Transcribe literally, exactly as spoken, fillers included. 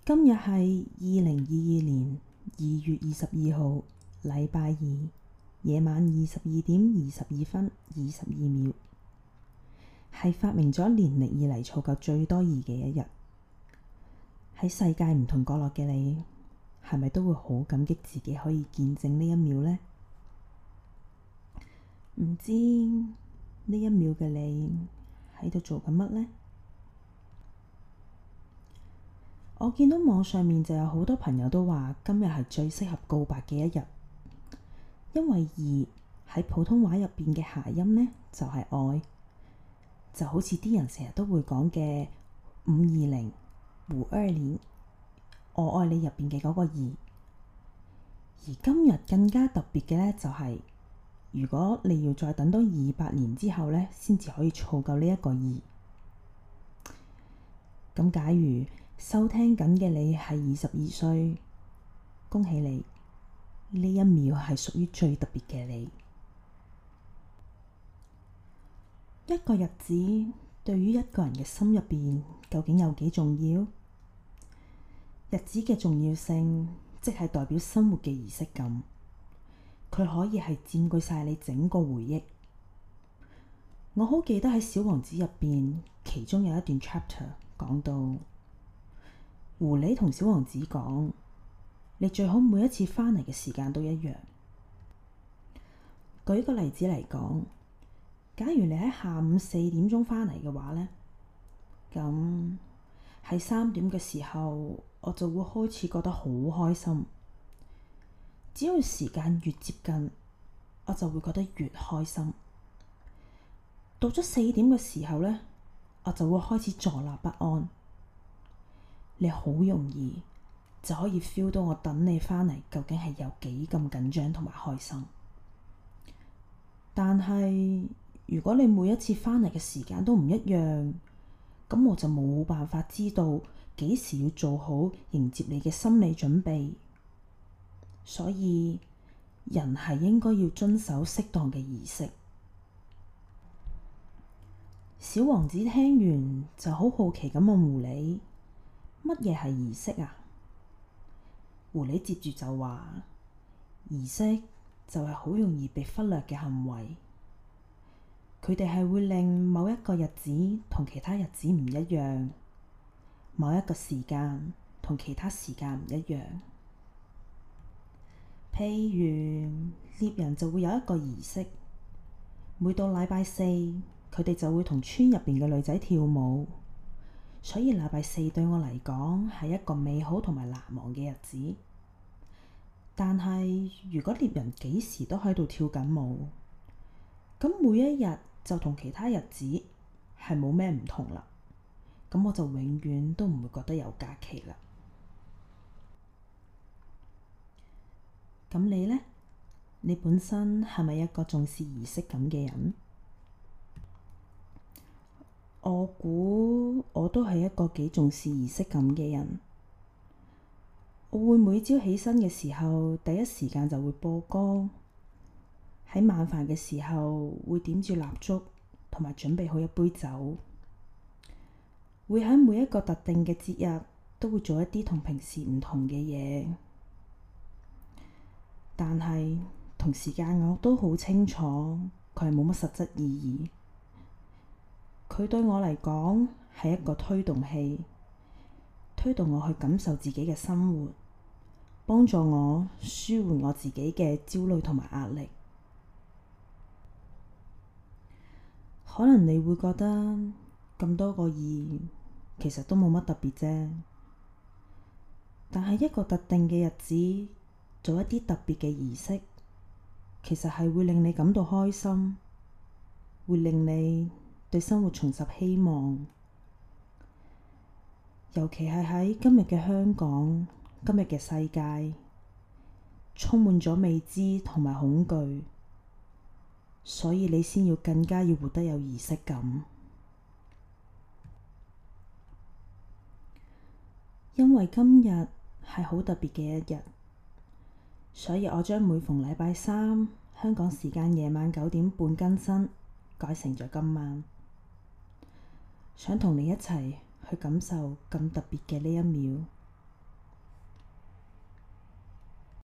今日係二零二二年二月二十二號，禮拜二，夜晚二十二點二十二分二十二秒，係發明咗年歷以嚟儲夠最多二嘅一日。喺世界唔同角落嘅你，係咪都會好感激自己可以見證呢一秒呢？唔知呢一秒嘅你喺度做緊乜呢？我見到網上面就有好多朋友都話今日係最適合告白嘅一日，因為二喺普通話入邊嘅諧音呢，就係愛，就好似啲人成日都會講嘅五二零、五二零，我愛你入邊嘅嗰個二。而今日更加特別嘅呢，就係如果你要再等多二百年之後呢，先至可以湊夠呢一個二。咁假如收聽緊嘅你係二十二歲，恭喜你，呢一秒係屬於最特別嘅你。一個日子對於一個人嘅心入邊究竟有幾重要？日子嘅重要性，即係代表生活嘅儀式感，佢可以係佔據晒你整個回憶。我好記得喺《小王子》入邊，其中有一段 chapter 講到，狐狸同小王子講：你最好每一次返嚟嘅時間都一樣。舉個例子嚟講，假如你喺下午四點鐘返嚟嘅話呢，咁喺三點嘅時候，我就會開始覺得好開心。只要時間越接近，我就會覺得越開心。到咗四點嘅時候呢，我就會開始坐立不安。你好容易就可以 feel 到我等你返嚟究竟係有幾咁緊張同埋開心。但係如果你每一次返嚟嘅時間都唔一樣，咁我就冇辦法知道幾時要做好迎接你嘅心理準備。所以人係應該要遵守適當嘅儀式。小王子聽完就好好奇咁問狐狸：乜嘢係儀式啊？狐狸接住就話：儀式就係好容易被忽略嘅行為，佢哋係會令某一個日子同其他日子唔一樣，某一個時間同其他時間唔一樣。譬如獵人就會有一個儀式，每到禮拜四，佢哋就會同村入邊嘅女仔跳舞。所以禮拜四對我嚟講係一個美好同埋難忘嘅日子。但係如果獵人幾時都喺度跳緊舞，咁每一日就同其他日子係冇咩唔同啦。咁我就永遠都唔會覺得有假期啦。咁你呢？你本身係咪一個重視儀式感嘅人？我估我都係一個幾重視儀式感嘅人。我會每朝起身嘅時候，第一時間就會播歌。喺晚飯嘅時候，會點住蠟燭，同埋準備好一杯酒。會喺每一個特定嘅節日，都會做一啲同平時唔同嘅嘢。但係同時間我都好清楚，佢係冇乜實質意義。佢對我嚟講係一個推動器，推動我去感受自己嘅生活，幫助我舒緩我自己嘅焦慮同埋壓力。可能你會覺得咁多個二其實都冇乜特別啫，但係一個特定嘅日子做一啲特別嘅儀式，其實係會令你感到開心，會令你對生活重拾希望。尤其係喺今日嘅香港，今日嘅世界充滿咗未知同埋恐懼，所以你先要更加要活得有儀式感。因為今日係好特別嘅一日，所以我將每逢禮拜三香港時間夜晚九點半更新，改成咗今晚。想同你一齊去感受咁特別嘅呢一秒。